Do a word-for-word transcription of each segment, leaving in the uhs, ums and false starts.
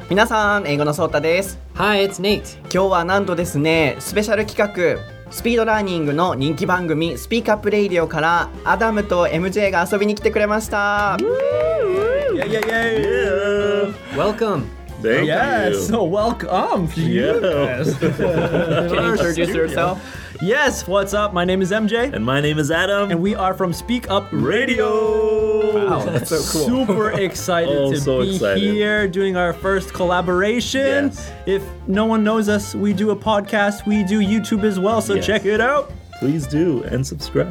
皆さん、英語のソータです。 Hi, it's Nate. 今日はなんとですね、スペシャル企画スピードラーニングの人気番組スピークアップレイディオからアダムと エムジェー が遊びに来てくれました。 Yeah, yeah, yeah. Welcome. Thank yes, you. so welcome. Yeah. Yes. Can you introduce yourself? Yes, what's up? My name is M J. And my name is Adam. And we are from Speak Up Radio. Wow, that's so cool. Super excited Oh, to so be excited. here doing our first collaboration. Yes. If no one knows us, we do a podcast, we do YouTube as well, so Yes. check it out. Please do and subscribe.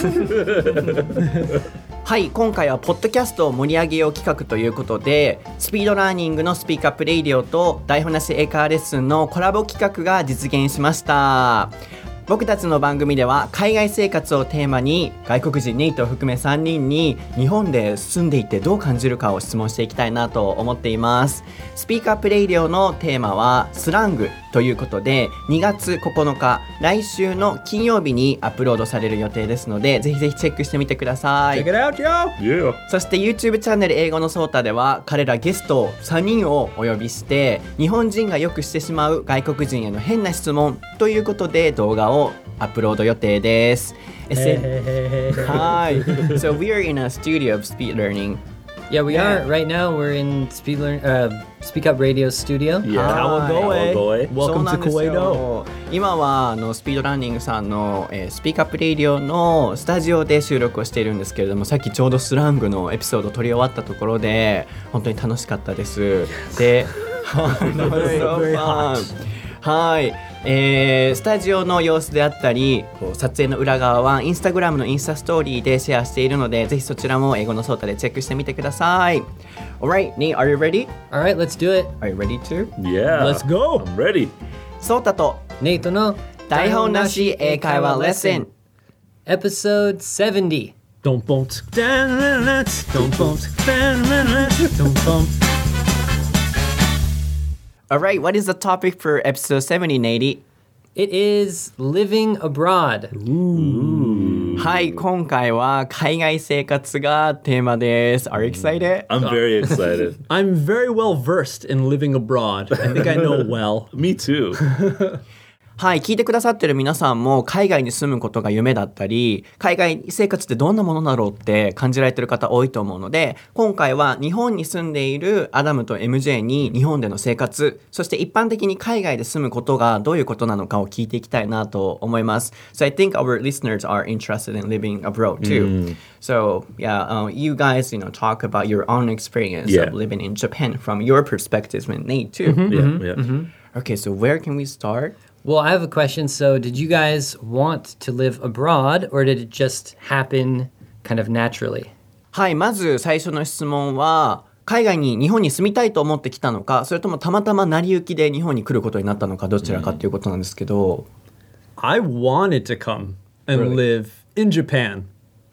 はい、今回はポッドキャストを盛り上げよう企画ということで、スピードラーニングのスピークアップレイディオと台本なし英会話レッスンのコラボ企画が実現しました。僕たちの番組では海外生活をテーマに外国人ネイトを含めさんにんに日本で住んでいてどう感じるかを質問していきたいなと思っています。スピークアップレイディオのテーマはスラングということで、にがつここのか来週の金曜日にアップロードされる予定ですので、ぜひぜひチェックしてみてください。 Check it out, yo! Yeah. そして YouTube チャンネル英語のソータでは彼らゲストさんにんをお呼びして日本人がよくしてしまう外国人への変な質問ということで動画をアップロード予定です。 Hey, hey, hey, hey. はい。So we are in a studio of speed learning. Yeah, we Yeah. are. Right now, we're in Speed Learn, uh, Speak Up Radio Studio. Yeah. Kawagoe. Kawagoe. Welcome そうな to んですよ Kuwait. 今はあのスピードラーニングさんの、えー、スピークアップレイディオのスタジオで収録をしているんですけれども、さっきちょうどスラングのエピソードを撮り終わったところで本当に楽しかったです。で、 Very hot. はい、えー、スタジオの様子であったりこう撮影の裏側はインスタグラムのインスタストーリーでシェアしているので、ぜひそちらも英語のソータでチェックしてみてください。 Alright, Nate, are you ready? All right, let's do it. Are you ready too? Yeah. Let's go. I'm ready. ソータと Nate no 台本なし英会話レッスン Episode seventy. Don't bump. Don't bump. Don't bump. Alright, what is the topic for episode seventy, Nate? It is living abroad. はい、今回は海外生活がテーマです。Are you excited? I'm very excited. I'm very well versed in living abroad. I think I know well. Me too. はい、聞いてくださってる皆さんも海外に住むことが夢だったり、海外生活ってどんなものだろうって感じられてる方多いと思うので、今回は日本に住んでいるアダムと エムジェー に日本での生活、そして一般的に海外で住むことがどういうことなのかを聞いていきたいなと思います。So I think our listeners are interested in living abroad too. So yeah, uh, you guys, you know, talk about your own experience Yeah. of living in Japan from your perspectives with Nate too. Yeah, yeah. Okay, so where can we start? Well, I have a question. So, did you guys want to live abroad, or did it just happen kind of naturally? はい、まず最初の質問は、海外に日本に住みたいと思ってきたのか、それともたまたま成り行きで日本に来ることになったのか、どちらかということなんですけど、 I wanted to come and Really? live in Japan,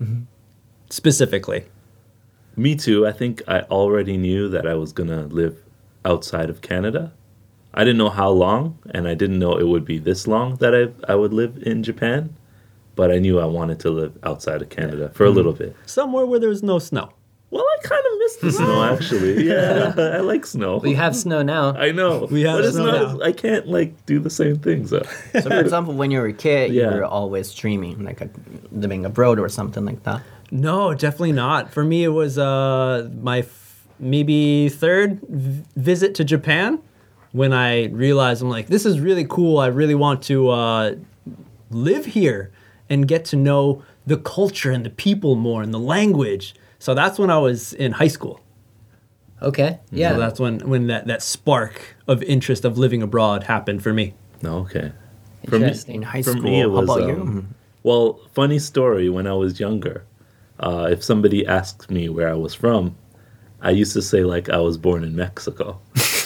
specifically. Me too. I think I already knew that I was going to live outside of Canada. I didn't know how long, and I didn't know it would be this long that I I would live in Japan. But I knew I wanted to live outside of Canada for a little bit. Somewhere where there's no snow. Well, I kind of miss the snow, actually. Yeah, I like snow. We have snow now. I know. We have but it's snow not. now. I can't like do the same things. Though. So for example, when you were a kid, Yeah. you were always dreaming, like a, living abroad or something like that. No, definitely not. For me, it was uh, my f- maybe third v- visit to Japan when I realized I'm like, this is really cool. I really want to uh, live here and get to know the culture and the people more and the language. So that's when I was in high school. Okay. Yeah. So that's when, when that, that spark of interest of living abroad happened for me. No, okay. For me, Interesting. In high for school, me, it how was. about um, you? Well, funny story. When I was younger, uh, if somebody asked me where I was from, I used to say like I was born in Mexico.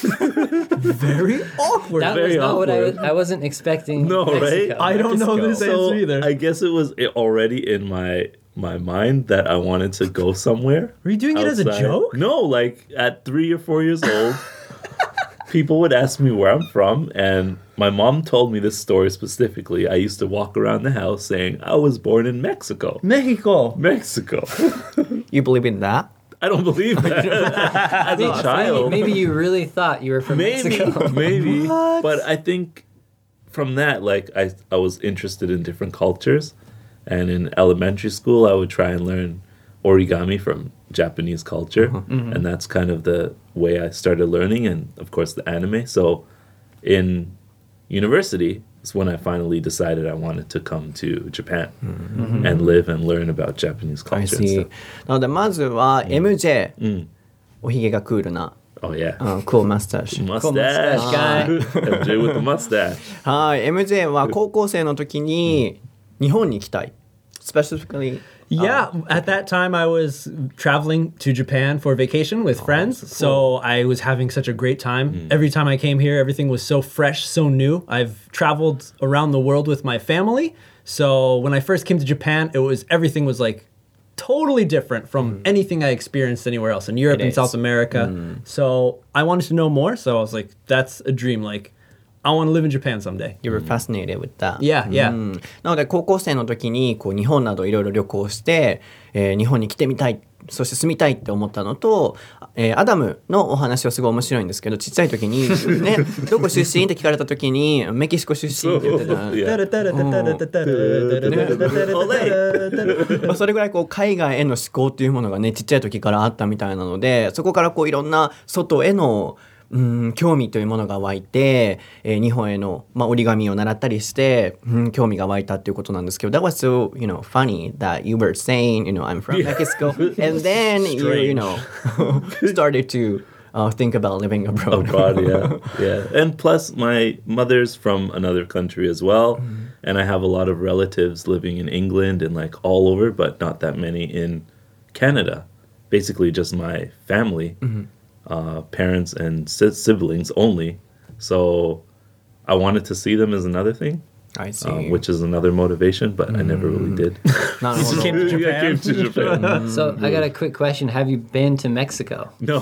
Very awkward. that very was not what I was. awkward. I wasn't expecting. No, right? Mexico. I don't know Mexico. this So answer either. I guess it was i- already in my my mind that I wanted to go somewhere. Were you doing it as a outside. joke? No, like at three or four years old, people would ask me where I'm from, and my mom told me this story specifically. I used to walk around the house saying I was born in Mexico. Mexico. Mexico. You believe in that? I don't believe that. As a child, Maybe you really thought you were from maybe, Mexico. maybe. But I think from that, like I, I was interested in different cultures, and in elementary school, I would try and learn origami from Japanese culture, Mm-hmm. and that's kind of the way I started learning, and of course the anime. So, in university is when I finally decided I wanted to come to Japan and live and learn about Japanese I culture and see. stuff. なのでまずは エムジェー、 うんおひげがクールな、 Oh yeah. うん、クールマスタッシュ。 Mustache mustache M J with the mustache. はい、エムジェー は高校生の時に日本に行きたい。Specifically, Yeah, at that time I was traveling to Japan for vacation with friends, so I was having such a great time. Every time I came here, everything was so fresh, so new. I've traveled around the world with my family, so when I first came to Japan, it was everything was like totally different from anything I experienced anywhere else in Europe It and is. South America. So I wanted to know more, so I was like, that's a dream. Like, I want to live in Japan someday. you were fascinated with that. Yeah, yeah. うんなので高校生の時にこう日本などいろいろ旅行して、えー日本に来てみたい、そして住みたいって思ったのと、えーアダムのお話はすごい面白いんですけど、ちっちゃい時にね、どこ出身って聞かれた時にメキシコ出身って言ってた。 Yeah. まあそれぐらいこう海外への思考っていうものがねちっちゃい時からあったみたいなので、そこからこういろんな外へのうん興味というものが湧いて、えー日本への、まあ、折り紙を習ったりして、うん、興味が湧いたっていうことなんですけど、That was so, you know, funny that you were saying, you know, I'm from Mexico, and then you, you know, started to uh, think about living abroad. Abroad, yeah, yeah. And plus, my mother's from another country as well, and I have a lot of relatives living in England and like all over, but not that many in Canada. Basically, just my family, uh, parents and si- siblings only. So I wanted to see them as another thing, I see. uh, which is another motivation, but I never really did. なるほど。 Came to I came Japan. to Japan. So I got a quick question. Have you been to Mexico? No,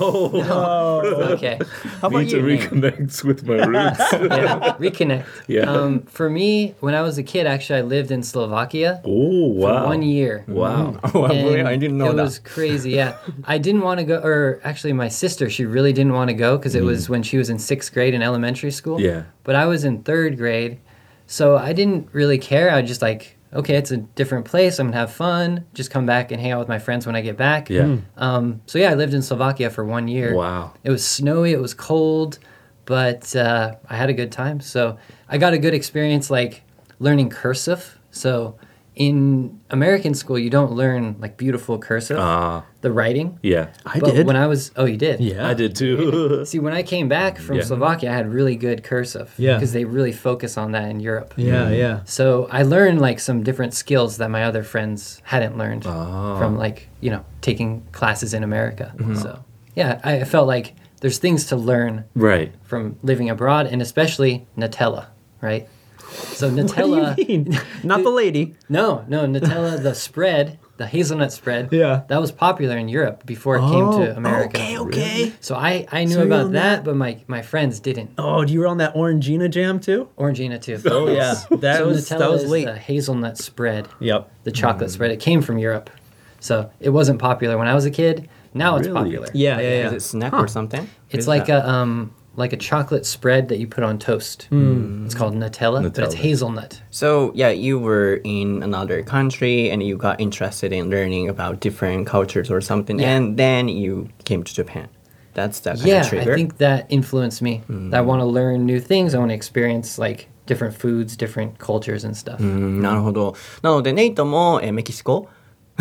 Okay. How about need to you, Nate? reconnect with my roots. Yeah. Reconnect. Yeah. Um, for me, when I was a kid, actually, I lived in Slovakia Oh for wow! one year. Wow. Oh, I And really- I didn't know it that. was crazy. Yeah, I didn't want to go, or actually, my sister, she really didn't want to go because it was when she was in sixth grade in elementary school. Yeah. But I was in third grade, so I didn't really care. I just like, okay, it's a different place. I'm gonna have fun. Just come back and hang out with my friends when I get back. Yeah. Um. So yeah, I lived in Slovakia for one year. Wow. It was snowy. It was cold, but uh, I had a good time. So I got a good experience, like learning cursive. So in American school, you don't learn like beautiful cursive, Ah, the writing. yeah. I But did. when I was, oh, you did. yeah. I did too. See, when I came back from Yeah. Slovakia, I had really good cursive. Yeah. Because they really focus on that in Europe. Yeah, yeah. So I learned like some different skills that my other friends hadn't learned Ah. from like, you know, taking classes in America. So yeah, I felt like there's things to learn Right. from living abroad, and especially Nutella, right? So Nutella, What do you mean? Not the lady. no, no, Nutella, the spread, the hazelnut spread, Yeah. that was popular in Europe before it came to America. Okay, okay. So I, I knew So you're about on that, that? but my, my friends didn't. Oh, you were on that Orangina jam too? Orangina too. Oh yeah, that so was Nutella that was is late. the hazelnut spread, Yep. the chocolate spread. It came from Europe, so it wasn't popular when I was a kid. Now it's Really? popular. Yeah, yeah, Is yeah. it snack or something? It's Is like that- a um like a chocolate spread that you put on toast. It's called Nutella, but it's Nutella. hazelnut. So yeah, you were in another country and you got interested in learning about different cultures or something, Yeah. and then you came to Japan. That's that kind Yeah, of trigger. I think that influenced me. That I want to learn new things. I want to experience like different foods, different cultures and stuff. うんなるほど。なのでネイトも、えーメキシコ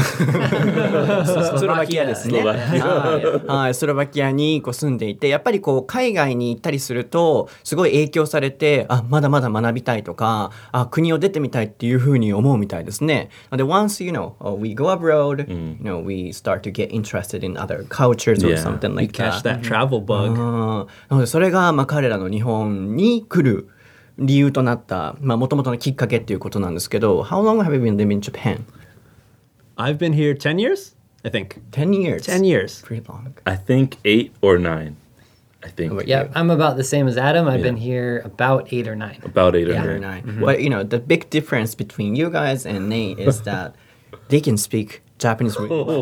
スロバキアですね。 スロバキアはいはい、スロバキアにこう住んでいて、やっぱりこう海外に行ったりするとすごい影響されて、あ、まだまだ学びたいとか、あ、国を出てみたいっていうふうに思うみたいですね。なので once you know we go abroad, you know we start to get interested in other cultures or Yeah. something You like catch that. that travel bug. あーなのでそれがまあ彼らの日本に来る理由となったまあ元々のきっかけっていうことなんですけど、 How long have you been living in Japan? I've been here ten years, I think. ten years. ten years. Pretty long. I think eight or nine. I think Wait. Yeah, I'm about the same as Adam. I've Yeah. been here about eight or nine. about eight or Yeah. Very nine. nice. But you know the big difference between you guys and Nate is that they can speak Japanese really well.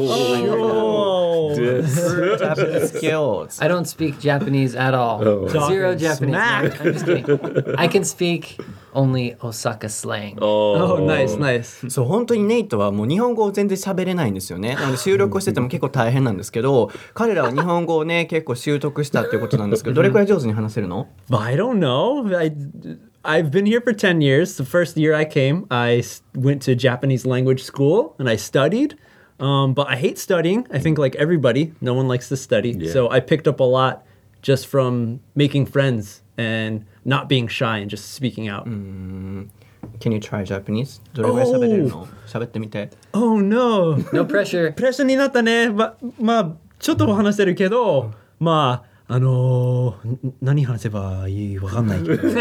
Oh, this. Japanese skills. I don't speak Japanese at all. Oh. Zero Talking Japanese. No, smack. I'm just kidding. I can speak only Osaka slang. Oh, Oh, nice, nice. そう本当にネイトはもう日本語を全然喋れないんですよね。なので収録をしてても結構大変なんですけど、彼らは日本語をね結構習得したっていうことなんですけど、どれくらい上手に話せるの？ I don't know. I, I've been here for ten years. The first year I came, I s- went to Japanese language school and I studied. Um, but I hate studying. I think like everybody, no one likes to study. Yeah. So I picked up a lot just from making friends and not being shy and just speaking out. Can you try Japanese? どれくらい喋れるの？喋ってみて。 Oh no. No pressure. プレッシャーになったね。ま、まあ、ちょっとは話せるけど、まあ、あのー、ん何話せばいいわかんないけど。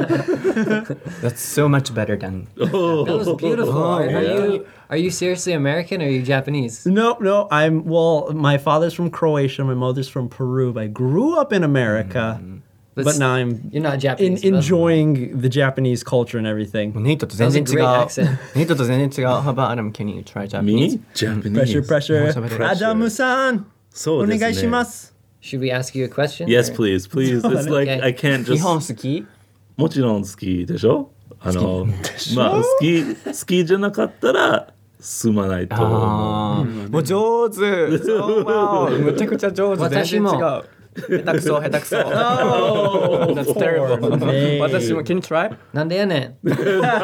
That's so much better than. That was beautiful. Are, are yeah. you are you seriously American or are you Japanese? No, no, I'm, well, my father's from Croatia, my mother's from Peru. I grew up in America, But but now I'm You're not in, Japanese. but- enjoying the Japanese culture and everything. ネイトと全然違 That was a う great accent.。 ネイトと全然違う。How about Adam? Can you try Japanese? Me? Japanese. Pressure, pressure. Pressure. アダムさん、 そうですね。 お願いします。 Should we ask you a question? Yes, or- please, please. It's like Okay. I can't 日 just. 本好き？ もちろん好きでしょ？あの、まあ好き好きじゃなかったら住まないと思う。 ああ、もう上手。そうわおむちゃくちゃ上手。全然違う。下手くそ下手くそ。That's terrible. me. 私も Can you try? なんでやねん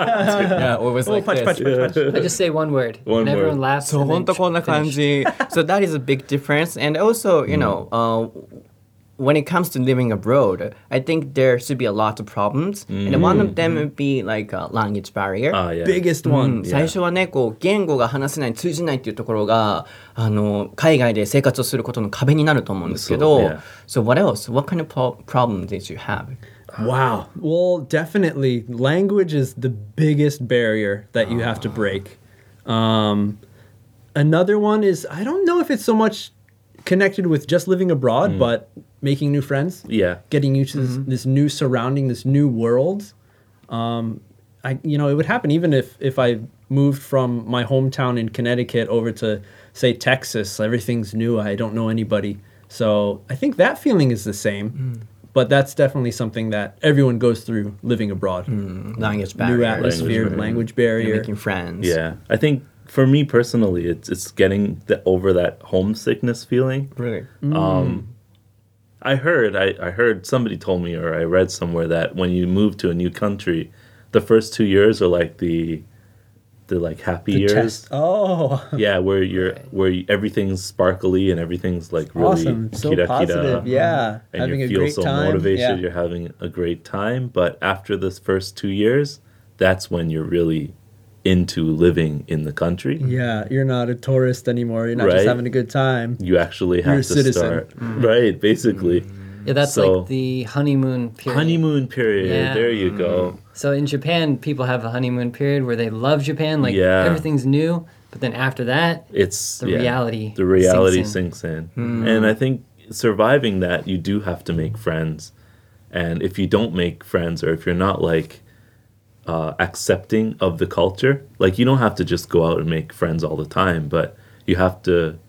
Yeah, always like パチパチ this. パチパチ。 I just say one word. One and everyone word. laughs. そう and then 本当こんな感 finish. じ。So that is a big difference. And also, you know, uh, when it comes to living abroad, I think there should be a lot of problems. And one of them would be like a language barrier. あ、yeah. biggest うん one. 最初はねこう言語が話せない通じないっていうところがあの海外で生活をすることの壁になると思うんですけど、 そう yeah. So what else? What kind of pro- problem did you have? Wow. Well, definitely, language is the biggest barrier that you have to break. Um, another one is, I don't know if it's so much connected with just living abroad, but making new friends. Yeah. Getting used to this, this new surrounding, this new world. Um, I, you know, it would happen even if if I moved from my hometown in Connecticut over to, say, Texas. Everything's new. I don't know anybody. So I think that feeling is the same. But that's definitely something that everyone goes through living abroad. Language barrier. New atmosphere, Language language, barrier. You're barrier. making friends. Yeah. I think for me personally, it's it's getting the, over that homesickness feeling. Really? Um, I heard, I, I heard somebody told me, or I read somewhere that when you move to a new country, the first two years are like the, the like happy The years. test. Oh, Yeah, where you're where you, everything's sparkly and everything's like really awesome. So kira-kira, positive. Yeah. and Having you a feel great so time. motivated. Yeah. You're having a great time, but after this first two years, that's when you're really into living in the country. Yeah, you're not a tourist anymore. You're not just Right. having a good time. You actually have You're a to citizen. start right, basically. Yeah, that's So- like the honeymoon period. Honeymoon period. Yeah. There you go. So in Japan, people have a honeymoon period where they love Japan, like Yeah. everything's new. But then after that, It's the yeah, reality The reality sinks sinks in, and I think surviving that, you do have to make friends. And if you don't make friends, or if you're not like uh, accepting of the culture, like you don't have to just go out and make friends all the time, but you have to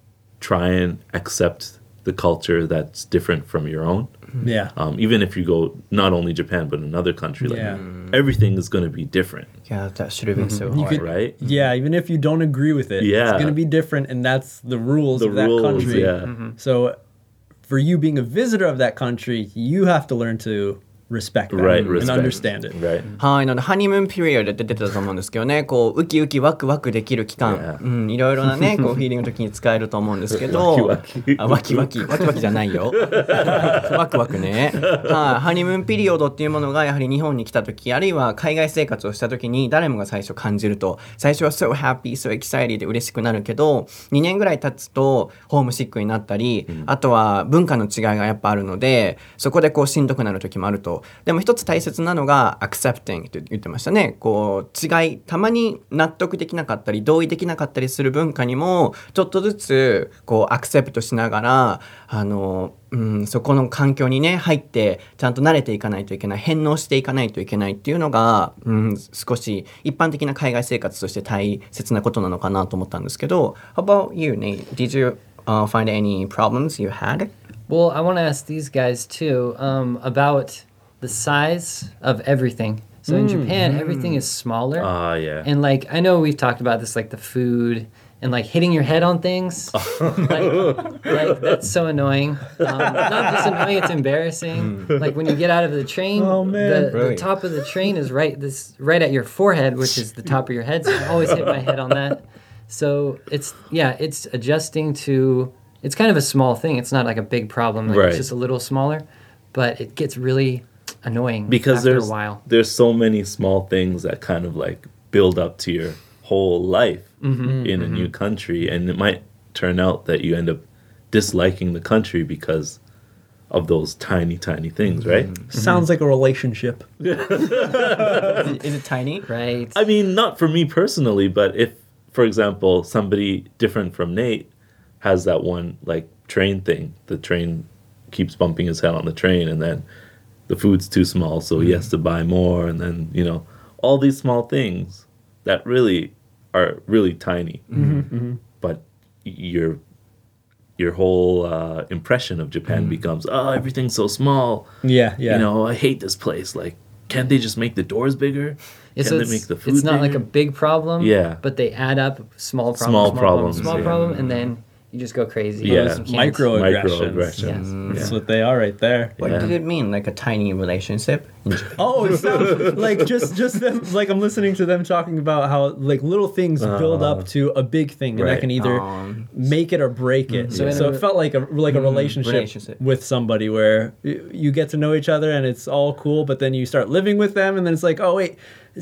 try and accept the culture that's different from your own. Yeah. Um, even if you go not only Japan but another country, like Yeah. everything is going to be different, Yeah, that should have been so You hard. could- right? Yeah, even if you don't agree with it, Yeah. it's going to be different, and that's the rules The of that rules, country. yeah. So, for you being a visitor of that country, you have to learn to respect that Right, and respect. understand it. Right. はい、なのでハニムーンピリオドって出てたと思うんですけどね、こうウキウキワクワクできる期間、 Yeah. うん、いろいろなね、こうフィーリングの時に使えると思うんですけど、 ワキワキあ、ワキワキ、ワキワキじゃないよ。ワクワクね。はい、ハニムーンピリオドっていうものがやはり日本に来た時、あるいは海外生活をした時に誰もが最初感じると、最初は so happy, so excited で嬉しくなるけど、にねんぐらい経つとホームシックになったり、あとは文化の違いがやっぱあるので、そこでこうしんどくなる時もあるとど、でも一つ大切なのが accepting と言ってましたね。こう違い、たまに納得できなかったり同意できなかったりする文化にもちょっとずつこうアクセプトしながら、あの、うん、そこの環境にね入ってちゃんと慣れていかないといけない、返納していかないといけないっていうのが、うん、少し一般的な海外生活として大切なことなのかなと思ったんですけど。How about you, Nate? Did you uh, find any problems you had? Well, I want to ask these guys too um, about the size of everything. So in Japan, everything is smaller. Ah, yeah. And like, I know we've talked about this, like the food and like hitting your head on things. like, like, that's so annoying. Um, not just annoying, it's embarrassing. Like when you get out of the train, Oh, man. the, the Really? top of the train is right this right at your forehead, which is the top of your head. So I always hit my head on that. So it's, yeah, it's adjusting to, it's kind of a small thing. It's not like a big problem. Like Right. It's just a little smaller, but it gets really annoying Because after there's a while. there's so many small things that kind of like build up to your whole life Mm-hmm. in a new country, and it might turn out that you end up disliking the country because of those tiny tiny things, right? Sounds like a relationship. Is it tiny? Right. I mean, not for me personally, but if, for example, somebody different from Nate has that one like train thing, the train keeps bumping his head on the train, and then the food's too small, so he has to buy more, and then, you know, all these small things that really are really tiny, but your your whole uh, impression of Japan becomes, oh, everything's so small. Yeah, yeah. You know, I hate this place. Like, can't they just make the doors bigger? Yeah, Can so they it's, make the food it's not like a bigger? big problem. Yeah. But they add up small problem, Small small, problem, problems, small yeah. problem, and then you just go crazy. Yeah. You can't- Microaggressions. Microaggressions. That's Yeah. what they are right there. What Yeah. did it mean? Like a tiny relationship? in Japan? Oh, it sounds like just just them. Like I'm listening to them talking about how like little things build up to a big thing, and that Right. can either Um, make it or break it. So So, in a- it felt like a like a relationship, relationship. with somebody where y- you get to know each other and it's all cool, but then you start living with them, and then it's like, oh wait,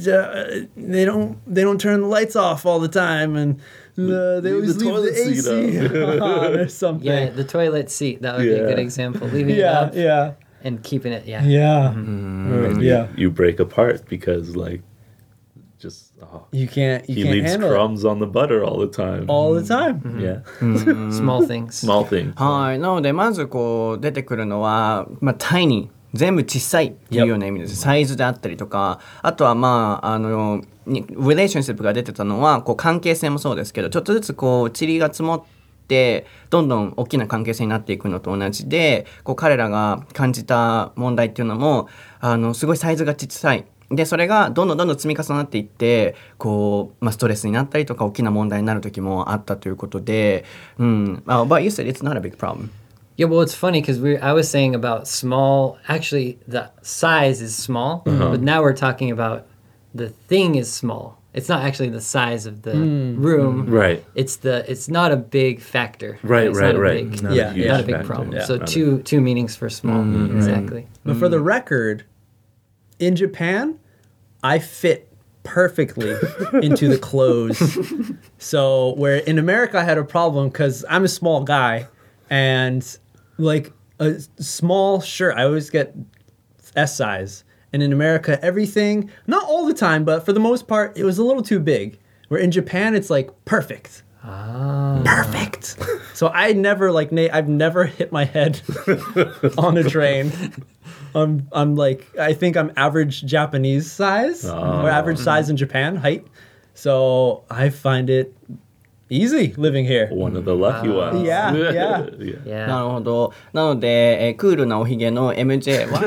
uh, they don't they don't turn the lights off all the time, and uh, they Leave always the leave toilet the A seat C on or something. Yeah, the toilet seat. That would be a good Yeah. example. Leaving it yeah, up yeah, and keeping it. Yeah. yeah, And yeah. you, you break apart because, like, just, oh, You can't you he can't leaves handle crumbs on the butter all the time. it all the time. Yeah. Small things. Small things. はい。なので、まずこう出てくるのは、まあ、タイニー。全部小さいっていうような意味です。サイズであったりとか、あとはまあ、あの、にリレーションシップが出てたのは、こう関係性もそうですけど、ちょっとずつこう、塵が積もって、どんどん大きな関係性になっていくのと同じで、こう彼らが感じた問題っていうのも、あの、すごいサイズが小さい。で、それがどんどんどんどん積み重なっていって、こう、まあ、ストレスになったりとか、大きな問題になる時もあったということで、うん。Uh, but you said it's not a big problem. Yeah, well, it's funny because we I was saying about small. Actually, the size is small, but now we're talking about the thing is small. It's not actually the size of the room. Right. It's the. It's not a big factor. Right, It's right, not a right. big- Not Yeah, a huge not a big factor. problem. Yeah. So Not a- two two meanings for small. Exactly. But for the record, in Japan, I fit perfectly into the clothes. So where in America I had a problem because I'm a small guy, and like a small shirt, I always get S size. And in America, everything, not all the time, but for the most part, it was a little too big. Where in Japan, it's like perfect. Ah. Perfect. So I never like Nate. I've never hit my head on a train. I'm I'm like I think I'm average Japanese size or average size in Japan height. So I find it easy living here. One of the lucky ones. Yeah, yeah. yeah. Yeah. なるほど。なので、えークールなおひげの エムジェー は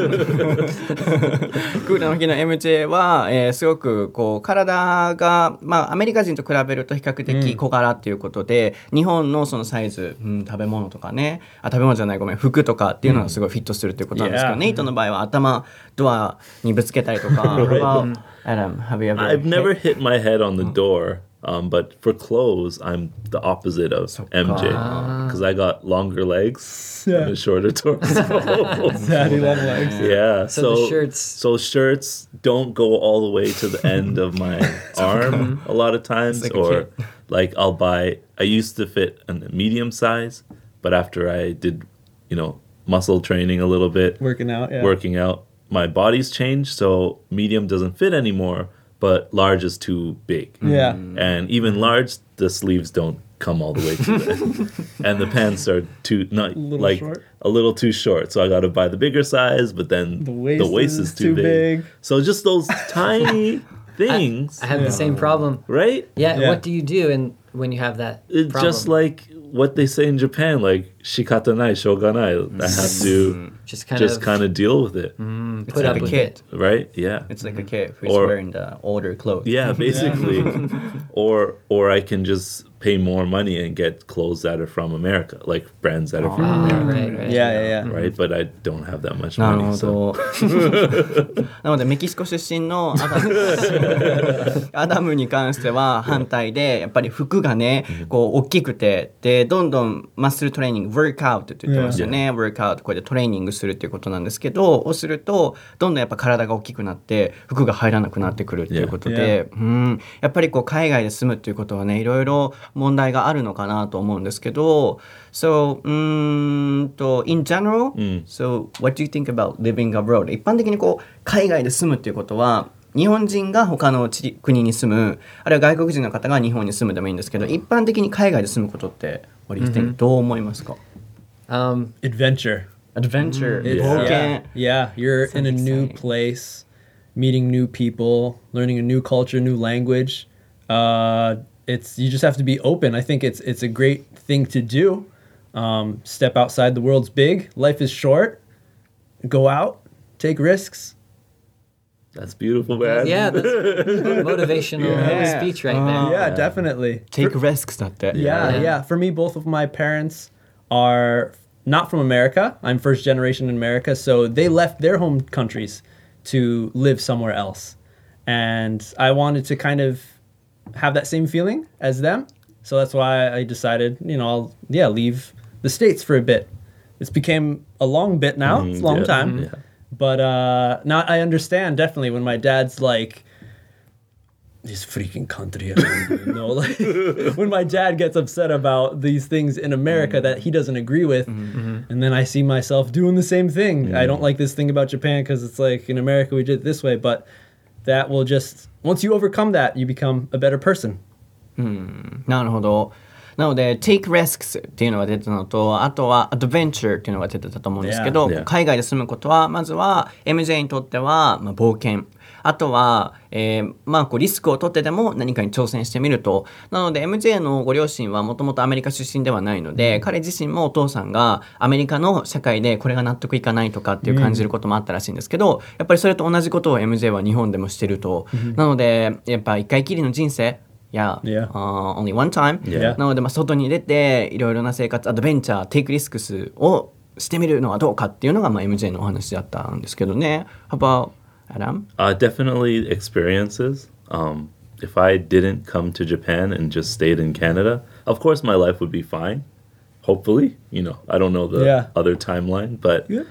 クールなおひげの エムジェー は、えーすごくこう体が、まあ、アメリカ人と比べると比較的小柄っていうことで、日本のそのサイズ、うん、食べ物とかね、あ食べ物じゃないごめん服とかっていうのがすごいフィットするっていうことなんですけど、 Yeah. ネイトの場合は頭ドアにぶつけたりとか。How about Adam, have you ever I've never hit- hit my head on the door, um, but for clothes, I'm the opposite of M J because I got longer legs Yeah. and a shorter torso. Daddy long legs. yeah, So so the shirts- so shirts don't go all the way to the end of my arm a lot of times, like a or kid. like I'll buy. I used to fit a medium size, but after I did, you know, muscle training a little bit, Working out. Yeah. working out, my body's changed, so medium doesn't fit anymore, but large is too big. Yeah. And even large, the sleeves don't come all the way to there. And the pants are too not Little like short. a little too short. So I got to buy the bigger size, but then The waist is too, too big. big. So just those tiny things, I have the same problem. right? Yeah, Yeah. what do you do and when you have that It's problem? just like what they say in Japan, like shikatanai, shoganai. I have to just kind just of kind of deal with it, It's put like up a with kid. it. right? Yeah. It's like a kid who's Or- wearing the older clothes. Yeah, basically. or or I can just pay more money and get clothes that are from America, like brands that are from Ah, America, right, right. Yeah, yeah, yeah. right? But I don't have that much なる money. ほ So ど。なのでメキシコ出身のアダムアダムに関しては反対で、やっぱり服がねこう大きくて、でどんどんマッスルトレーニング、ワークアウトって言ってますよね。ワークアウトこれでトレーニングするっていうことなんですけど、をするとどんどんやっぱ体が大きくなって服が入らなくなってくるっていうことで、うんやっぱりこう海外で住むっていうことはねいろいろ問題があるのかなと思うんですけど、so うーんと in general、so what do you think about living abroad？ 一般的にこう海外で住むっていうことは日本人が他の地国に住む、あるいは外国人の方が日本に住むでもいいんですけど、一般的に海外で住むことって what do you think？、どう思いますか？ Um, Adventure. Adventure、 It's- 冒 yeah, 険。 yeah, you're in a new exciting. place, meeting new people, learning a new culture, new language. Uh, it's you just have to be open. I think it's it's a great thing to do. Um, step outside. The world's big. Life is short. Go out, take risks. that's beautiful, man. yeah, that's motivational Yeah. speech right Uh, there. Yeah, definitely. Take risks だって。 Yeah, Yeah. yeah. For me, both of my parents are not from America. I'm first generation in America, so they left their home countries to live somewhere else. And I wanted to kind of have that same feeling as them. So that's why I decided, you know, I'll yeah, leave the States for a bit. It's became a long bit now. It's a long yeah, time. yeah. But uh now I understand definitely when my dad's like this freaking country. I don't even know. Like when my dad gets upset about these things in America that he doesn't agree with, and then I see myself doing the same thing. I don't like this thing about Japan because it's like in America we did it this way, but that will just once you overcome that, you become a better person. なるほど。なので take risks っていうのが出てたのと、あとは adventure っていうのが出てたと思うんですけど、 Yeah. Yeah. 海外で住むことはまずは エムジェー にとっては、まあ、冒険、あとは、えーまあ、こうリスクを取ってでも何かに挑戦してみると。なので エムジェー のご両親はもともとアメリカ出身ではないので、彼自身もお父さんがアメリカの社会でこれが納得いかないとかっていう感じることもあったらしいんですけど、やっぱりそれと同じことを エムジェー は日本でもしてると。なのでやっぱ一回きりの人生Yeah, Yeah. Uh, only one time. Yeah. なので、まあ、外に出ていろいろな生活、アドベンチャー、テイクリスクスをしてみるのはどうかっていうのが、まあ、エムジェー のお話だったんですけどね。How about Adam? Uh, definitely experiences. Um, if I didn't come to Japan and just stayed in Canada, of course my life would be fine. Hopefully, you know, I don't know the Yeah. other timeline, but Yeah.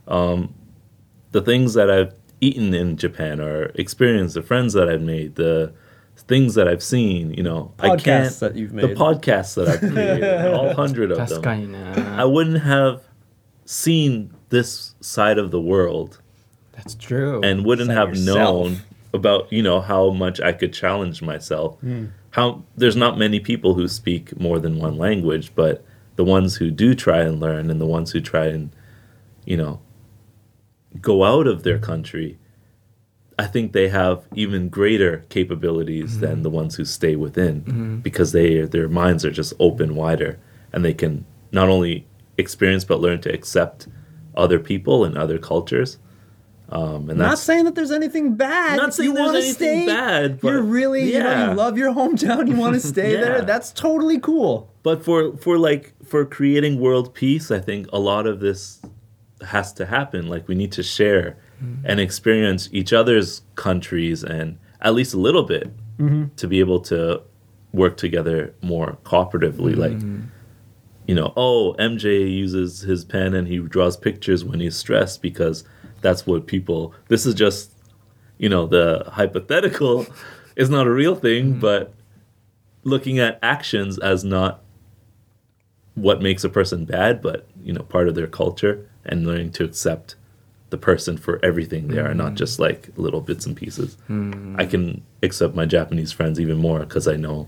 the things that I've eaten in Japan or experienced, the friends that I've made, the things that I've seen, you know, I Podcasts can't. that you've The made. podcasts that I've created, all hundred of 確か them. にね。 I wouldn't have seen this side of the world That's true. and wouldn't Side have yourself. known about, you know, how much I could challenge myself. How there's not many people who speak more than one language, but the ones who do try and learn and the ones who try and, you know, go out of their country, I think they have even greater capabilities than the ones who stay within because they their minds are just open wider and they can not only experience but learn to accept other people and other cultures. Um, and Not that's saying that there's anything bad. Not If saying you there's wanna anything stay, bad, but you're really, you know, yeah. you love your hometown. You want to stay Yeah. there. That's totally cool. But for for like for creating world peace, I think a lot of this has to happen. Like we need to share and experience each other's countries and at least a little bit to be able to work together more cooperatively. Like, you know, oh, M J uses his pen and he draws pictures when he's stressed because that's what people. This is just, you know, the hypothetical is not a real thing, but looking at actions as not what makes a person bad, but you know, part of their culture and learning to accept the person for everything they are, not just like little bits and pieces. I can accept my Japanese friends even more because I know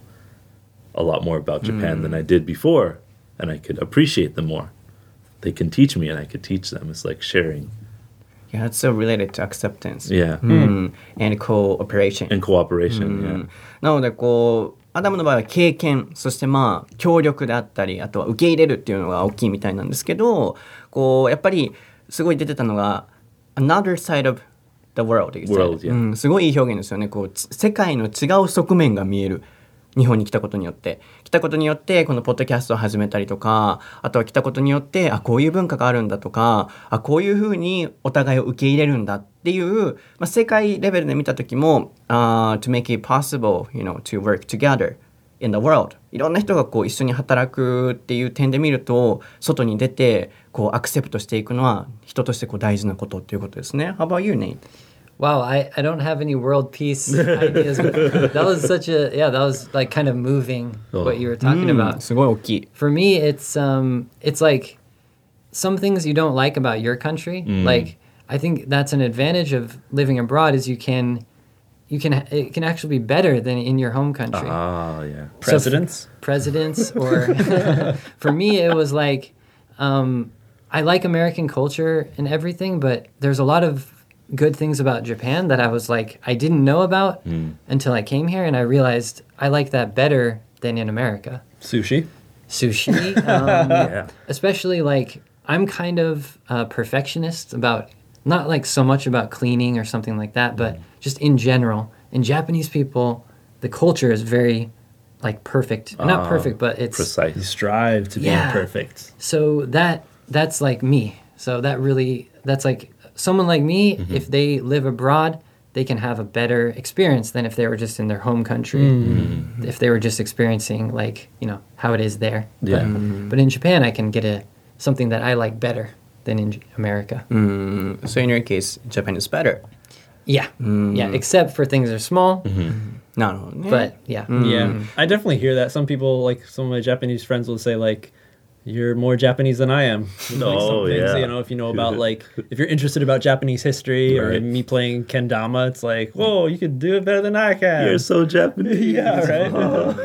a lot more about Japan than I did before, and I could appreciate them more. They can teach me and I could teach them. It's like sharing. Yeah, it's so related to acceptance. Yeah. Mm. And cooperation. And cooperation. Yeah. なのでこうアダムの場合は経験、そしてまあ協力であったり、あとは受け入れるっていうのが大きいみたいなんですけど、こうやっぱりすごい出てたのが another side of the world, you said. World, yeah. うん、すごいいい表現ですよね。こう世界の違う側面が見える。日本に来たことによって来たことによってこのポッドキャストを始めたりとか、あとは来たことによってあこういう文化があるんだとか、あこういうふうにお互いを受け入れるんだっていう、まあ、世界レベルで見た時も、uh, to make it possible, you know, to work together in the world、 いろんな人がこう一緒に働くっていう点で見ると、外に出てこうアクセプトしていくのは人としてこう大事なことっていうことですね。How about you, Nate? Wow, I, I don't have any world peace ideas. But that was such a, yeah, that was like kind of moving what you were talking うん about. すごい大きい。 For me, it's um, it's like some things you don't like about your country. Like I think that's an advantage of living abroad is you can, you can, it can actually be better than in your home country. Ah, yeah. Presidents? Presidents, or for me, it was like um, I like American culture and everything, but there's a lot of good things about Japan that I was like I didn't know about mm. until I came here, and I realized I like that better than in America. Sushi. Sushi, um, Yeah. especially like I'm kind of a perfectionist about not like so much about cleaning or something like that, but just in general. In Japanese people, the culture is very like perfect. Not Ah, perfect, but it's You Precise. strive to Yeah. be perfect. so that that's like me. So that really that's like someone like me, mm-hmm. if they live abroad, they can have a better experience than if they were just in their home country. Mm-hmm. If they were just experiencing like, you know, how it is there. Yeah. But, Mm-hmm. but in Japan, I can get a something that I like better than in America. Mm, so in your case, Japan is better. Yeah. Yeah, except for things are small. なるほどね。 But yeah. Yeah. I definitely hear that. Some people, like some of my Japanese friends will say like, you're more Japanese than I am. Like Oh, some things, yeah. you know, if you know about like, if you're interested about Japanese history or Right. me playing kendama, it's like, whoa, you could do it better than I can. You're so Japanese. yeah, right?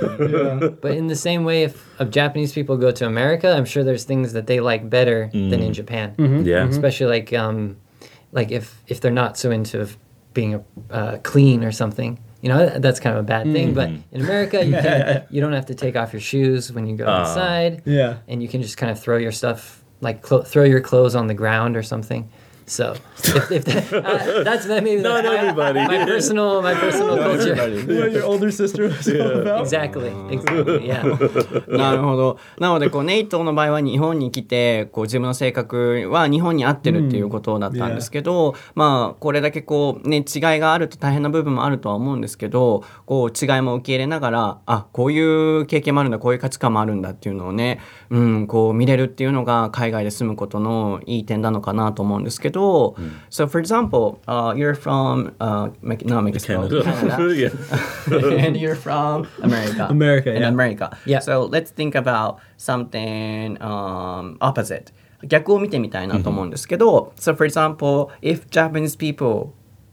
yeah. But in the same way, if, if Japanese people go to America, I'm sure there's things that they like better than in Japan. Yeah. Especially like um, like if if they're not so into being a, uh, clean or something. You know, that's kind of a bad thing. But in America, you can, you don't have to take off your shoes when you go Ah. outside. Yeah. And you can just kind of throw your stuff, like clo- throw your clothes on the ground or something. So if, if that, uh, that's that maybe Not that's my, everybody. my personal my personal culture. What your older sister was all about. Exactly. Exactly. Yeah. なるほど。なのでこうネイトの場合は日本に来てこう自分の性格は日本に合ってるっていうことだったんですけど、まあこれだけこうね違いがあると大変な部分もあるとは思うんですけど、こう違いも受け入れながら、あこういう経験もあるんだ、こういう価値観もあるんだっていうのをね、うんこう見れるっていうのが海外で住むことのいい点なのかなと思うんですけど。So for example, uh, you're from uh, Me- not Mexico, Canada. Canada. yeah. And you're from America. America, And yeah. America. Yeah. So let's think about something um, opposite. 逆を見てみたいなと思うんですけど、So for example, if Japanese people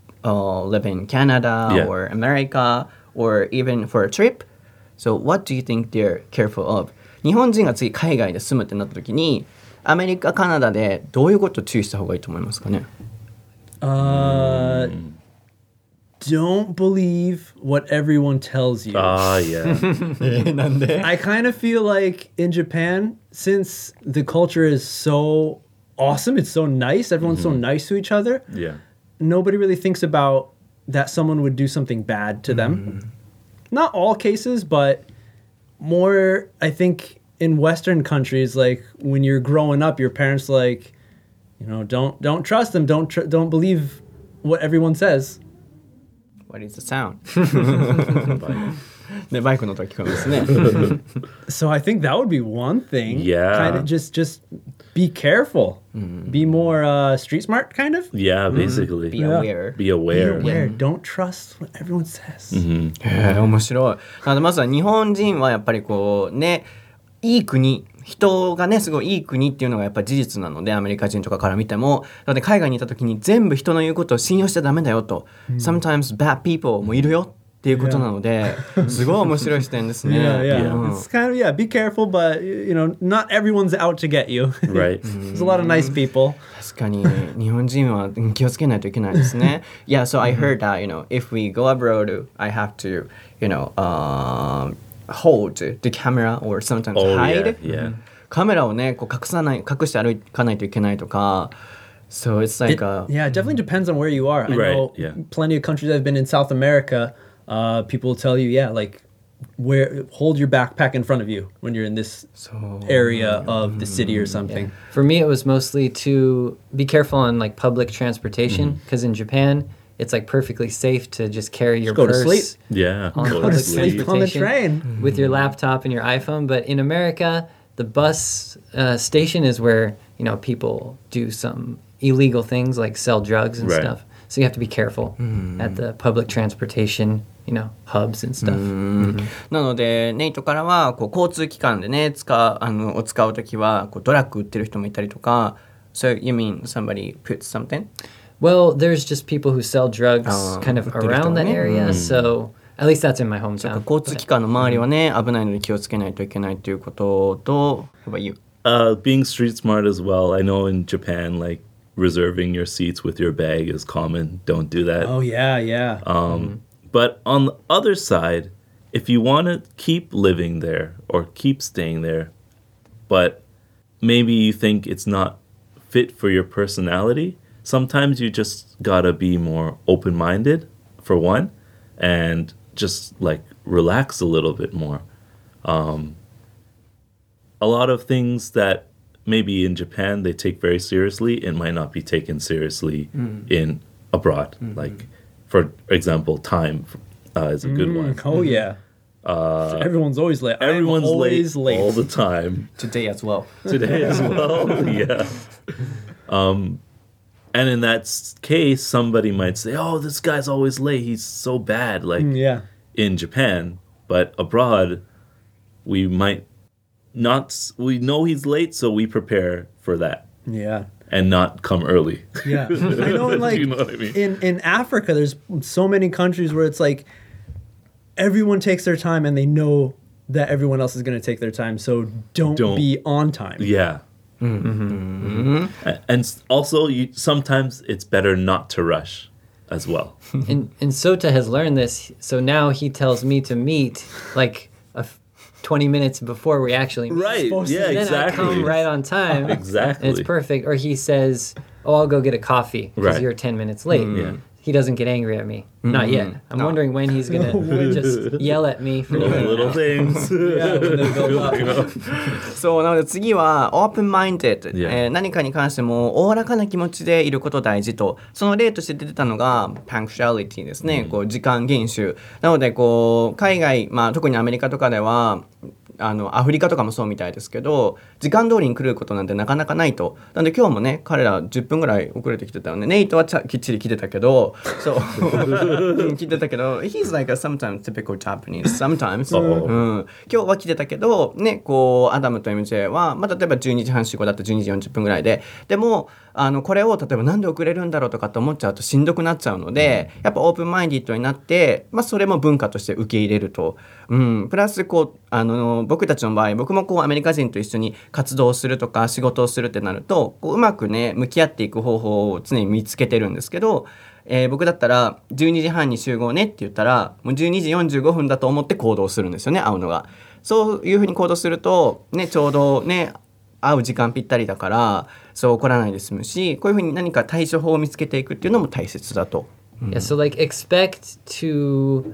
uh, live in Canada Yeah. or America or even for a trip, so what do you think they're careful of? 日本人が次海外で住むってなった時に、アメリカ、カナダでどういうことを注意した方がいいと思いますかね？ Uh, don't believe what everyone tells you. Ah, yeah. なんで I kind of feel like in Japan, since the culture is so awesome, it's so nice, everyone's so nice to each other, Yeah. nobody really thinks about that someone would do something bad to them. Not all cases, but more, I think, in Western countries, like when you're growing up, your parents like, you know, don't don't trust them, don't tr- don't believe what everyone says. What is the sound? ね、バイクの音が聞こえますね。 So I think that would be one thing. Yeah. Kind of just just be careful. Be more uh, street smart, kind of. Yeah, basically. Be aware. Be aware. Be aware. Don't trust what everyone says. へえ面白い。なのでまずは日本人はやっぱりこうねいい国人がねすごいいい国っていうのがやっぱ事実なのでアメリカ人とかから見てもなので海外にいた時に全部人の言うことを信用しちゃダメだよと、うん、Sometimes bad people もいるよっていうことなので、yeah. すごい面白い視点ですね。 Yeah, yeah. yeah. It's kind of, yeah, be careful, but, you know, not everyone's out to get you. Right. There's a lot of nice people. 確かに、日本人は気をつけないといけないですね。Yeah, so I heard that, you know, if we go abroad, I have to, you know, um, hold the camera or sometimes oh, hide. Yeah, yeah. カメラをね、こう隠さない、隠して歩かないといけないとか、So it's like it, a... Yeah, it definitely depends on where you are. I right, know yeah. plenty of countries I've been in South America...Uh, people will tell you, yeah, like, where hold your backpack in front of you when you're in this so, area of the city or something. Yeah. For me, it was mostly to be careful on like public transportation because mm-hmm. in Japan, it's like perfectly safe to just carry your just go purse. To sleep. Yeah, on go public to sleep. transportation on the train with your laptop and your iPhone. But in America, the bus uh, station is where you know people do some illegal things like sell drugs and right. stuff.So you have to be careful mm. at the public transportation, you know, hubs and stuff. Mm. なので、ネイトからはこう交通機関でね、使うあのを使うときはこうドラッグ売ってる人もいたりとか。So you mean somebody puts something? Well, there's just people who sell drugs kind of around that area. So at least that's in my hometown. 交通機関の周りはね、危ないので気をつけないといけないということと。How about you? Uh, being street smart as well. I know in Japan, like.Reserving your seats with your bag is common. Don't do that. Oh, yeah, yeah. Um, mm-hmm. But on the other side, if you want to keep living there or keep staying there, but maybe you think it's not fit for your personality, sometimes you just gotta be more open-minded, for one, and just, like, relax a little bit more. Um, a lot of things that...maybe in Japan they take very seriously, it might not be taken seriously mm. in abroad. Mm-hmm. Like, for example, time uh, is a good mm, one. Oh, yeah. Uh, so everyone's always late. Everyone's always late, late all the time. Today as well. Today as well, yeah. Um, and in that case, somebody might say, oh, this guy's always late. He's so bad, like mm, yeah. in Japan. But abroad, we might...Not we know he's late, so we prepare for that. Yeah, and not come early. Yeah, I know. Like you know what I mean? in in Africa, there's so many countries where it's like everyone takes their time, and they know that everyone else is going to take their time. So don't, don't. be on time. Yeah. Mm-hmm. Mm-hmm. And also, you, sometimes it's better not to rush as well. and and Sota has learned this, so now he tells me to meet like.A twenty minutes before we actually meet. Right, yeah, then exactly. I come right on time. Exactly. And it's perfect. Or he says, oh, I'll go get a coffee because right. you're ten minutes late. Mm. Yeah. He doesn't get angry at me. Mm-hmm. Not yet. I'm no. wondering when he's going to just yell at me for doing little things. Yeah, when they build up. そうなので次は open-minded、 yeah. えー、何かに関してもおおらかな気持ちでいること大事とその例として出てたのが punctuality ですね、うん、こう時間厳守なのでこう海外、まあ、特にアメリカとかではあのアフリカとかもそうみたいですけど時間通りに来ることなんてなかなかないとなので今日もね彼らじゅっぷんぐらい遅れてきてたよねネイトはちゃきっちり来てたけどそう来てたけど he's like a sometimes typical Japanese sometimes、うん、今日は来てたけどねこうアダムと エムジェー は、まあ、例えばじゅうにじはん集合だったらじゅうにじよんじゅっぷんぐらいででもあのこれを例えばなんで遅れるんだろうとかって思っちゃうとしんどくなっちゃうので、うん、やっぱオープンマインディッドになって、まあ、それも文化として受け入れると、うん、プラスこうあの僕たちの場合僕もこうアメリカ人と一緒に活動するとか仕事をするってなるとこううまくね向き合っていく方法を常に見つけてるんですけど、えー、僕だったらじゅうにじはんに集合ねって言ったらもうじゅうにじよんじゅうごふんだと思って行動するんですよね会うのがそういうふうに行動すると、ね、ちょうどね会う時間ぴったりだからそう怒らないで済むしこういうふうに何か対処法を見つけていくっていうのも大切だと、 うん、Yeah, so like expect to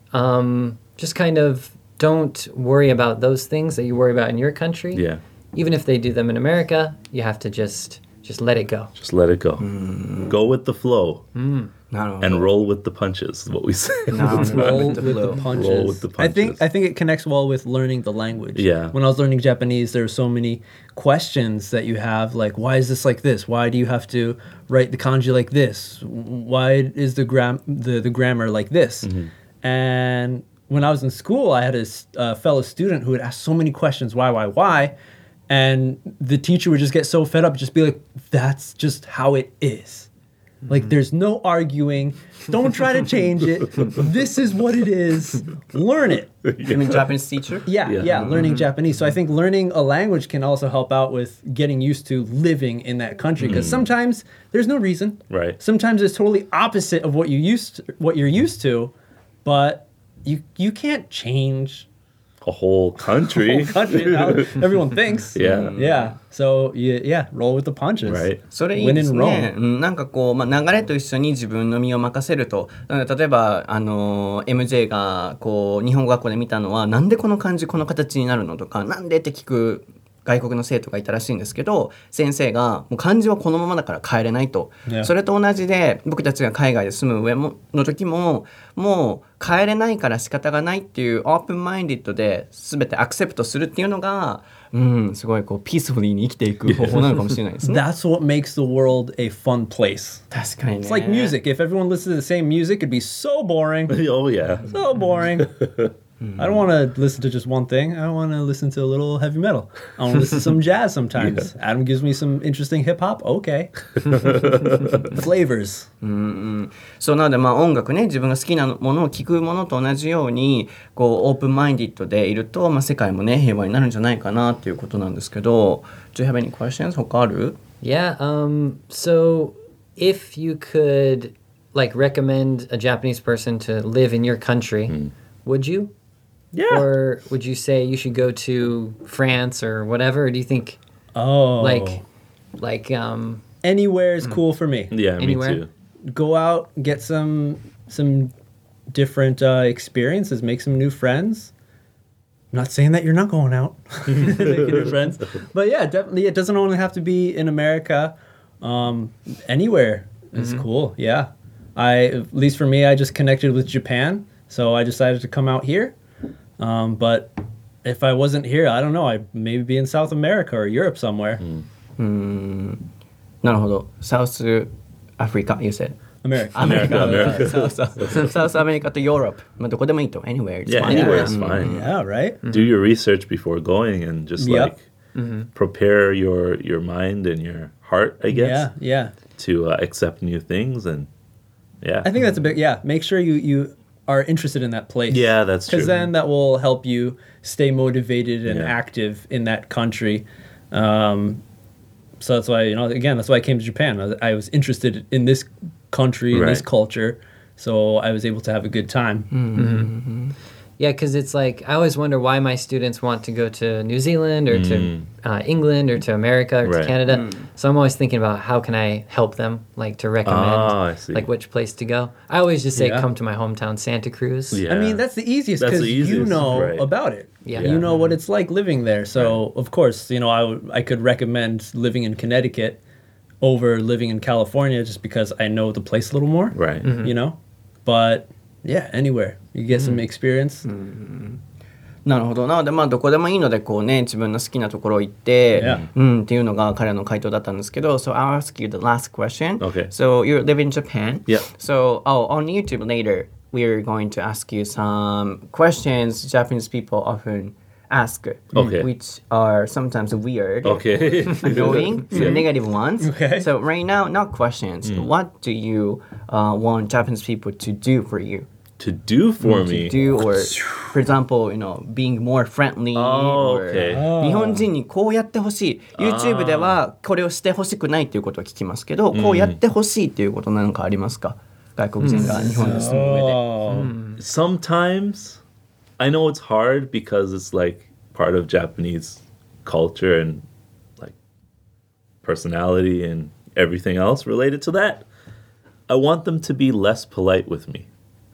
um, just kind of don't worry about those things that you worry about in your country. Yeah. Even if they do them in America, you have to just just let it go. Just let it go. Mm. Go with the flow. Mm. And roll with the punches is what we say. No, roll with the, with the punches. Roll with the punches. I think I think it connects well with learning the language. Yeah. When I was learning Japanese, there were so many questions that you have, like why is this like this? Why do you have to write the kanji like this? Why is the gram the, the grammar like this? Mm-hmm. And when I was in school, I had a uh, fellow student who would ask so many questions, why, why, why? and the teacher would just get so fed up, just be like, "That's just how it is." Like, there's no arguing. Don't try to change it. This is what it is. Learn it. You mean Japanese teacher? Yeah, yeah, Yeah. learning Japanese. So I think learning a language can also help out with getting used to living in that country, because sometimes there's no reason. Right. Sometimes it's totally opposite of what you used to, what you're used to, but you you can't change A whole country. the whole country now. Everyone thinks. Yeah. Yeah. So yeah, yeah, roll with the punches. Right. それいいです When in ね。 Rome. うんなんかこう、まあ、流れと一緒に自分の身を任せると。なので例えば、あの、エムジェー がこう日本語学校で見たのは、なんでこの漢字この形になるのとか、なんでって聞く外国の生徒がいたらしいんですけど、先生がもう漢字はこのままだから変えれないと。 Yeah. それと同じで、僕たちが海外で住む上もの時も、もう変えれないから仕方がないっていうオープンマインディッドで全てアクセプトするっていうのが、うん、すごいこうピースフリーに生きていく方法なのかもしれないですね。 That's what makes the world a fun place. 確かにね。 It's like music. If everyone listened to the same music, it'd be so boring. Oh yeah. So boring. I don't want to listen to just one thing. I want to listen to a little heavy metal. I want to listen to some jazz sometimes. Adam gives me some interesting hip hop. Okay. Flavors. そうなのでまあ音楽ね、自分が好きなものを聴くものと同じようにこうオープンマインディッドでいると、まあ、世界もね平和になるんじゃないかなっていうことなんですけど、 Do you have any questions? 他ある？ Yeah. Um. So, if you could, like, recommend a Japanese person to live in your country, would you? Yeah. Or would you say you should go to France or whatever? Or do you think, Oh. like, like, um, Anywhere is cool for me. Yeah, Anywhere? me too. Go out, get some some different uh, experiences, make some new friends. I'm not saying that you're not going out, making new friends, but yeah, definitely, it doesn't only have to be in America. Um, anywhere is cool. Yeah, I at least for me, I just connected with Japan, so I decided to come out here. Um, but if I wasn't here, I don't know. I'd maybe be in South America or Europe somewhere. なるほど。サウスアフリカ、you said。 America. アメリカ、 America. そうそうサウスアメリカとヨーロッパ、まあ、どこでもいいと anywhere it's Yeah, fine. anywhere is fine. Yeah, right. Do your research before going and just Yep. like prepare your your mind and your heart, I guess, Yeah, yeah. to uh, accept new things and yeah. I think that's a big yeah. Make sure you you are interested in that place. Yeah, that's true. Because then that will help you stay motivated and Yeah. active in that country. Um, so that's why you know again that's why I came to Japan. I was, I was interested in this country, in this Right. culture, so I was able to have a good time. yeah, because it's like, I always wonder why my students want to go to New Zealand or to uh, England or to America or Right. to Canada. So I'm always thinking about how can I help them, like to recommend, Ah, I see. like which place to go. I always just say, Yeah. come to my hometown, Santa Cruz. Yeah. I mean, that's the easiest That's because the you easiest, know right. about it. Yeah. You Yeah. know what it's like living there. So, of course, you know, I, w- I could recommend living in Connecticut over living in California just because I know the place a little more. Right. You know? But, yeah, anywhere. You get some experience. なるほど。なのでまあどこでもいいのでこうね自分の好きなところ行って、 Yeah. うんっていうのが彼の回答だったんですけど、 So I'll ask you the last question. Okay. So you live in Japan. Yeah. So oh on YouTube later we're going to ask you some questions Japanese people often ask. Okay. Which are sometimes weird. Okay. Annoying, some Yeah. negative ones. Okay. So right now, not questions. What do you uh, want Japanese people to do for you? To do for To me. do or, for example, you know, being more friendly. Oh, or okay. 日本人にこうやってほしい。YouTube ではこれをしてほしくないっていうことを聞きますけど、こうやってほしいっていうことなんかありますか？外国人が日本に住む上で。 Oh. Sometimes I know it's hard because it's like part of Japanese culture and like personality and everything else related to that. I want them to be less polite with me.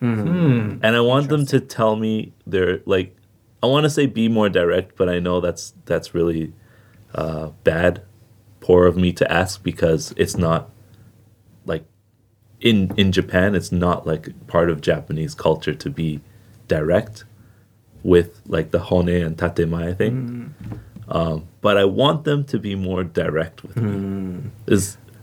And I want them to tell me they're like I want to say be more direct, but I know that's that's really uh, bad, poor of me to ask because it's not like in in Japan it's not like part of Japanese culture to be direct with like the hone and tatemae thing. Um, but I want them to be more direct with me. Is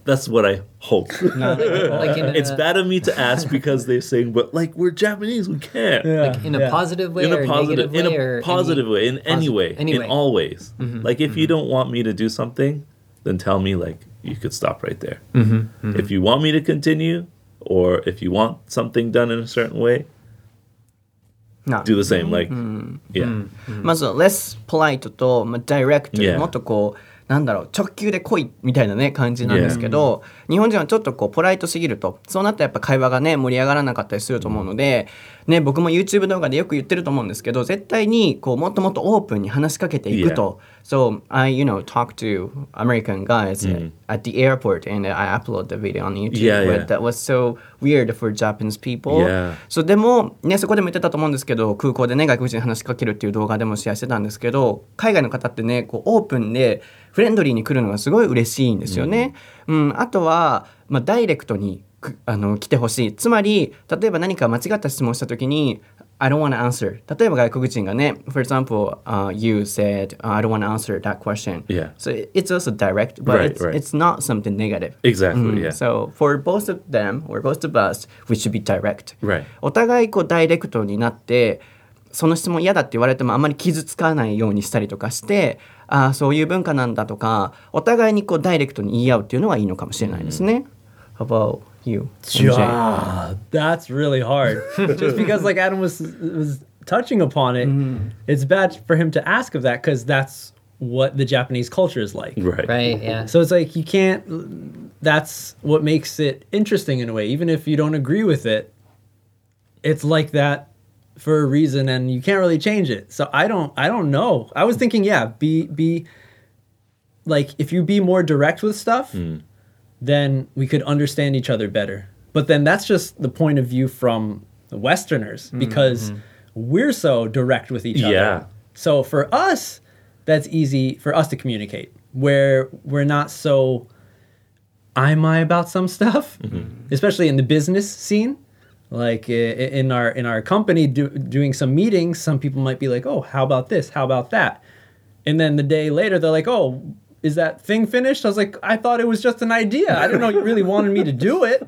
that's what I hope. Like in a, It's bad of me to ask because they're saying, but like we're Japanese, we can't. Yeah, like in a yeah. positive way In or a positive, negative in way a or positive any, way, in any posi- way, any in way. all ways. Like if you don't want me to do something, then tell me. Like you could stop right there. If you want me to continue, or if you want something done in a certain way, な do the same. Like, yeah, まず less polite と、まあ、direct、 Yeah. もっとこうなんだろう直球で来いみたいなね感じなんですけど、日本人はちょっとこうポライトすぎると、そうなったらやっぱ会話がね盛り上がらなかったりすると思うので、ね、僕も YouTube 動画でよく言ってると思うんですけど、絶対にこうもっともっとオープンに話しかけていくと。So I, you know, talk to American guys at the airport and I upload the video on YouTube. Yeah, yeah. But that was so weird for Japanese people. Yeah. そうでも、ね、そこでも言ってたと思うんですけど、空港でね外国人に話しかけるっていう動画でもシェアしてたんですけど、海外の方ってねこうオープンでフレンドリーに来るのがすごい嬉しいんですよね。うん、うん、あとは、まあ、ダイレクトにあの来てほしい。つまり例えば何か間違った質問した時にI don't want to answer. 例えば外国人がね For example,、uh, you said、uh, I don't want to answer that question. Yeah. So it's also direct, but Right, it's, right. it's not something negative. exactly. Mm, Yeah, So for both of them or both of us, we should be direct. right. お互いこうダイレクトになってその質問嫌だって言われてもあんまり傷つかないようにしたりとかして、ああそういう文化なんだとかお互いにこうダイレクトに言い合うっていうのはいいのかもしれないですね。How about you? Yeah, that's really hard. Just because like Adam was was touching upon it, it's bad for him to ask of that because that's what the Japanese culture is like. Right. Right, yeah. So it's like you can't. That's what makes it interesting in a way. Even if you don't agree with it, it's like that for a reason, and you can't really change it. So I don't. I don't know. I was thinking, yeah, be be like if you be more direct with stuff, then we could understand each other better. But then that's just the point of view from the Westerners because we're so direct with each other. Yeah. So for us, that's easy for us to communicate where we're not so I'm I about some stuff, especially in the business scene. Like i- in our in our company do, doing some meetings, some people might be like, "Oh, how about this? How about that?" And then the day later, they're like, "Oh, is that thing finished?" I was like, "I thought it was just an idea. I didn't know you really wanted me to do it."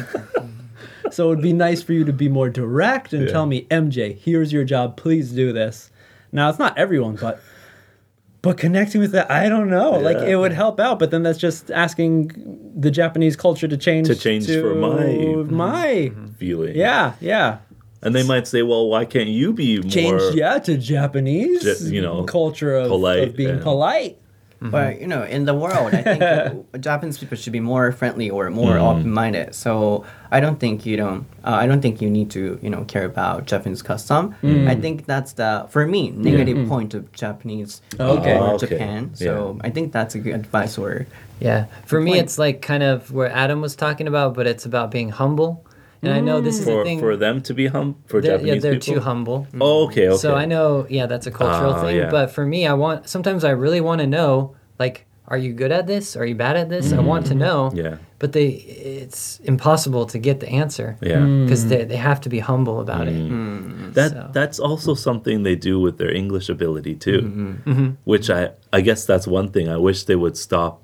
So it would be nice for you to be more direct and Yeah. tell me, "M J, here's your job. Please do this." Now it's not everyone, but but connecting with that, I don't know. Like Yeah. it would help out, but then that's just asking the Japanese culture to change To change for my- my Feeling. yeah yeah And they might say, well, why can't you be change more? yeah to Japanese Ju- you know, culture of, polite of being and- polite. But you know, in the world, I think uh, Japanese people should be more friendly or more open-minded. So I don't think you don't. Uh, I don't think you need to, you know, care about Japanese custom. I think that's the, for me, negative point of Japanese Okay. or Okay. Japan. So I think that's a good advice. Or Yeah. For me, point. it's like kind of where Adam was talking about, but it's about being humble. And I know this is the For, thing. for them to be hum for they're, Japanese yeah, they're people? too humble. Oh, okay, okay. So I know, yeah, that's a cultural Ah, thing. yeah. But for me, I want, sometimes I really want to know, like, are you good at this? Are you bad at this? I want to know. Yeah. But they, it's impossible to get the answer. Yeah. Because they, they have to be humble about it. That So- that's also something they do with their English ability too, which I I guess that's one thing I wish they would stop.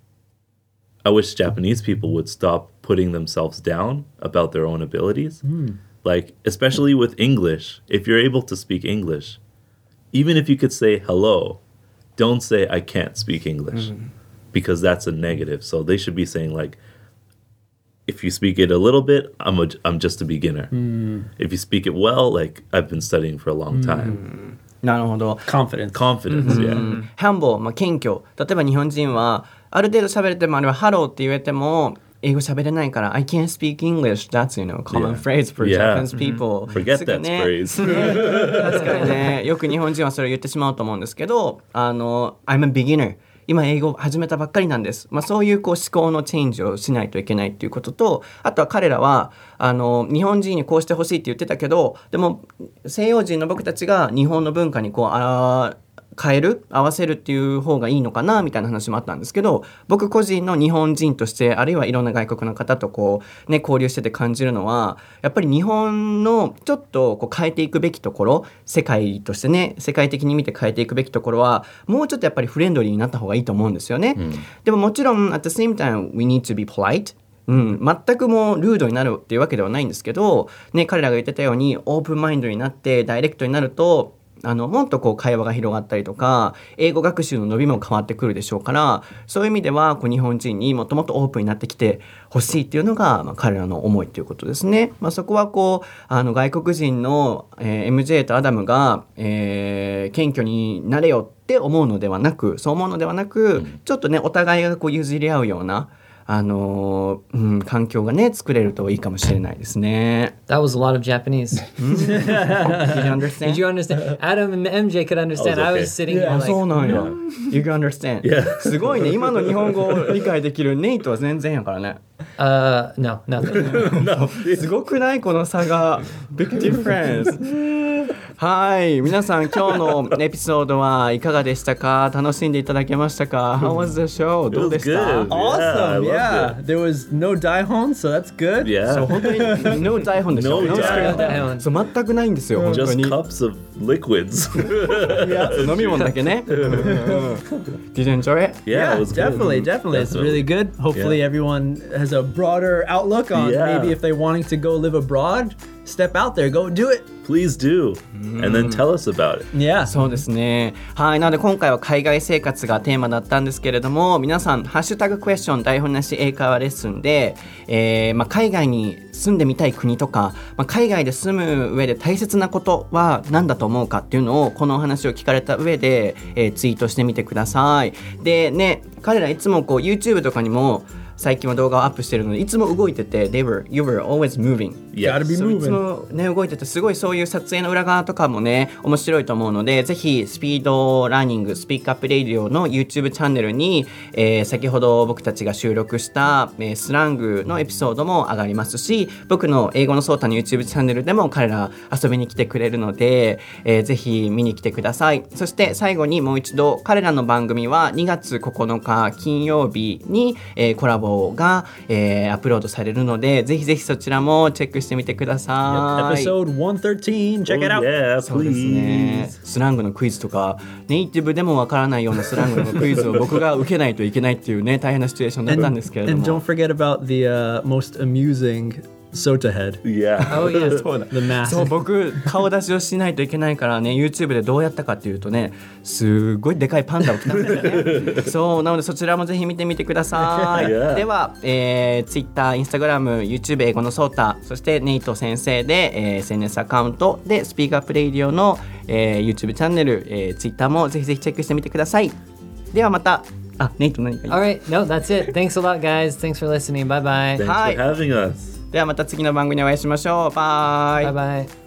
I wish Japanese people would stop putting themselves down about their own abilities. Like especially with English, if you're able to speak English, even if you could say hello, don't say I can't speak English because that's a negative. So they should be saying like if you speak it a little bit, I'm a, I'm just a beginner. If you speak it well, like I've been studying for a long time. なるほど。 Confidence. Confidence, yeah. ハンボ、まあ、謙虚。例えば日本人はある程度喋れてもあれはハローって言えても英語喋れないから I can't speak English. That's, you know, common Yeah. phrase for Yeah. Japanese people. Forget すぐ that ね phrase. 確かにね、よく日本人はそれを言ってしまうと思うんですけど、あの、I'm a beginner. 今英語始めたばっかりなんです。まあ、そういうこう思考のチェンジをしないといけないっていうことと、あとは彼らはあの日本人にこうしてほしいって言ってたけど、でも西洋人の僕たちが日本の文化にこうあ変える合わせるっていう方がいいのかなみたいな話もあったんですけど、僕個人の日本人としてあるいはいろんな外国の方とこう、ね、交流してて感じるのはやっぱり日本のちょっとこう変えていくべきところ、世界としてね世界的に見て変えていくべきところはもうちょっとやっぱりフレンドリーになった方がいいと思うんですよね、うん、でももちろん at the same time we need to be polite、うん、全くもうルードになるっていうわけではないんですけど、ね、彼らが言ってたようにオープンマインドになってダイレクトになるとあのもっとこう会話が広がったりとか英語学習の伸びも変わってくるでしょうから、そういう意味ではこう日本人にもっともっとオープンになってきてほしいっていうのが、まあ、彼らの思いということですね、まあ、そこはこうあの外国人の、えー、エムジェー とアダムが、えー、謙虚になれよって思うのではなくそう思うのではなく、うん、ちょっとねお互いがこう譲り合うようなあのーうん、環境がね作れるといいかもしれないですね。 That was a lot of Japanese. Did you understand? Did you understand? Adam and M J could understand. I was, okay. I was sitting here like そうなんや You can understand、yeah. すごいね今の日本語を理解できるネイトは全然やからね。 Uh, no, nothing. no. すごくないこの差が Big difference はい皆さん今日のエピソードはいかがでしたか？楽しんでいただけましたか？ How was the show? どうでした？ Awesome, yeah. There was no daihon, so that's good. Yeah. そう本当に No 台本でしょ。 No 台本。 そう全くないんですよ。本当 Just に cups of liquids. 飲み物だけね。Did you enjoy it? Yeah, Yeah, it was definitely, good. definitely. It's really good. Hopefully Yeah. everyone has a broader outlook on Yeah. maybe if they're wanting to go live abroad, step out there, go do it. Please do. And then tell us about it. Yeah. そうですね。はい。なので今回は海外生活がテーマだったんですけれども、皆さんハッシュタグクエスチョン台本なし英会話レッスンで、えーまあ、海外に住んでみたい国とか、まあ、海外で住む上で大切なことは何だと思うかっていうのをこのお話を聞かれた上で、えー、ツイートしてみてください。でね、彼らいつもこう YouTube とかにも最近は動画をアップしてるのでいつも動いてて They were, you were always moving Yes. Gotta be そういつ moving. もね動いててすごいそういう撮影の裏側とかもね面白いと思うのでぜひスピードラーニングスピークアップレイディオの YouTube チャンネルに、えー、先ほど僕たちが収録した、えー、スラングのエピソードも上がりますし僕の英語のソータの YouTube チャンネルでも彼ら遊びに来てくれるので、えー、ぜひ見に来てください。そして最後にもう一度彼らの番組はにがつここのか金曜日に、えー、コラボが、えー、アップロードされるのでぜひぜひそちらもチェックしてみてください。 Episode one thirteen, check it Oh, out. yeah, そうですね。 please. スラングのクイズとかネイティブでもわからないようなスラングのクイズを僕が受けないといけないっていうね大変なシチュエーションだったんですけれど And も don't forget about the uh, most amusing Sota head. Yeah. Oh, yeah. そうだ The mask. そう僕顔出しをしないといけないからね YouTube でどうやったかっていうとねすごいでかいパンダを着たんだよねそうなのでそちらもぜひ見てみてください、 Yeah. では、えー、Twitter、Instagram、YouTube 英語のソータそしてネイト先生で、えー、エスエヌエス アカウントでスピークアップレイディオの、えー、YouTube チャンネル、えー、Twitter もぜひぜひチェックしてみてください。ではまたあネイト何か言う All right. No, that's it. Thanks a lot, guys. Thanks for listening. Bye bye. Thanks Hi. for having us. ではまた次の番組でお会いしましょう。バイ。 Bye bye.